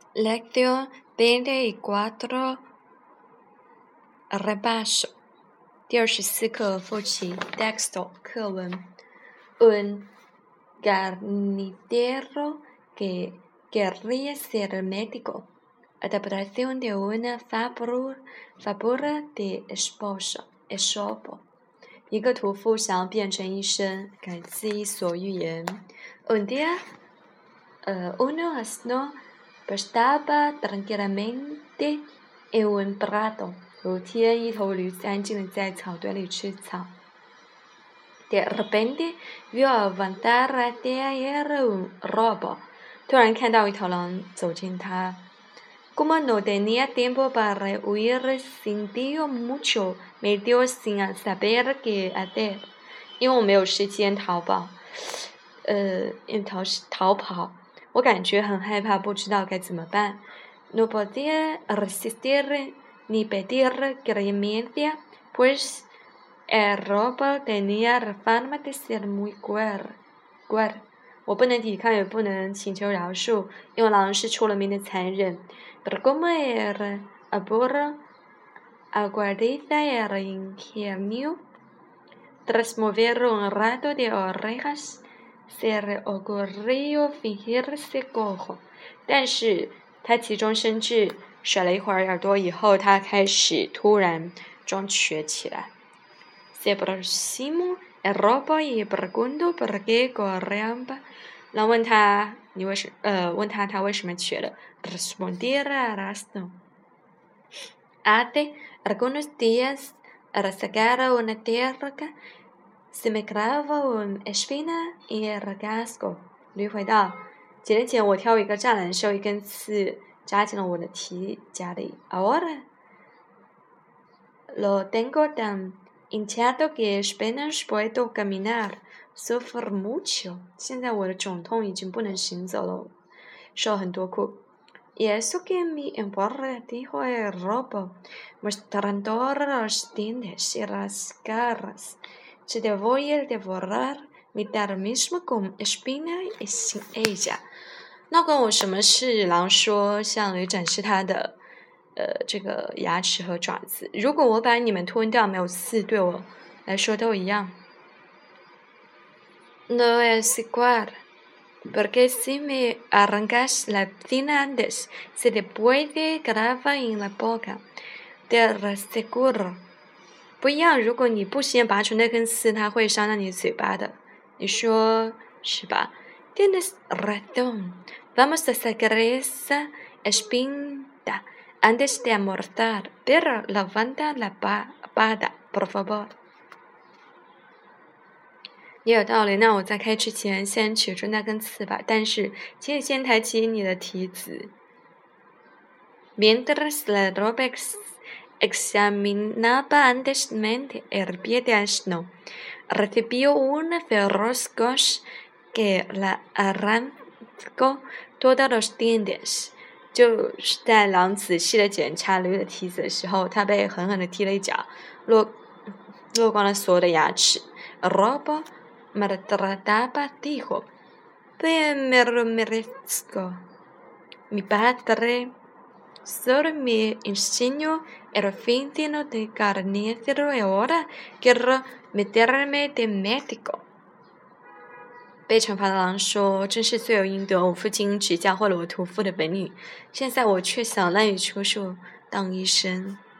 Lección 24 Repaso 第24课复习 Texto 课文 Un carnicero que querría ser médico Adaptación de una fábula de Esopo 一个屠夫想要变成医生，改自伊索寓言。Un día, uno asno Estaba tranquilamente en un prado. 有天，一头驴子安静地在草堆里吃草。De repente vio avanzar hacia él un lobo. 突然看到一头狼走近他。Como no tenía tiempo para huir, sintió mucho miedo sin saber qué hacer. 因为我没有时间逃跑。我感觉很害怕，不知道该怎么办。No podía resistir ni pedir clemencia, pues el lobo tenía fama de ser muy cruel. 我不能抵抗，也不能请求饶恕，因为狼是出了名的残忍。Pero como el abuelo aguardiza el ingenio, tras mover un rato de orejas,se le ocurrió fingirse cojo. 但是他急中生智，甩了一会儿耳朵以后，他开始突然装瘸起来。Se aproximó el lobo y preguntó por qué corría. 狼问他他为什么瘸了。Respondió arrastro. Hace algunos días, al sacar una tierra,se me clavó una espina en el casco. 驴回道，几年前我挑一个栅栏时候，一根刺扎进了我的蹄甲里。Ahora lo tengo tan hinchado que apenas puedo caminar. Sufro mucho. 现在我的肿痛已经不能行走了，受很多苦。Y eso que me importa, dijo el lobo, mostrando los dientes y las garras. Se te voy a devorar mi tal mismo con espina y sin ella. 那关我什么事？狼说，向驴展示他的这个牙齿和爪子。如果我把你们吞掉，没有刺，对我来说都一样。No es igual, porque si me arrancas la encina antes, se te puede clavar en la boca. Te lo aseguro. 不一样，如果你不先拔出那根刺，它会伤到你嘴巴的。你说是吧？ Tienes razón. Vamos a sacar esa espina antes de almorzar, pero levanta la pata, por favor. 也有道理，那我在开吃前先取出那根刺吧。但是，请你先抬起你的蹄子。Mientras la ropa examinaba anteriormente el pie de asno, recibió una feroz coz que la arrancó todos los dientes. 就是在狼仔细地检查驴的蹄子的时候，他被狠狠地踢了一脚，落光了所有的牙齿。Robo maltrataba dijo, bien me lo merezco. Mi padre solo me enseñó el oficio de carnicero y ahora quiero meterme de médico. 被惩罚的狼说：“真是罪有应得，我父亲只教会了我屠夫的本领，现在我却想滥竽充数当医生。”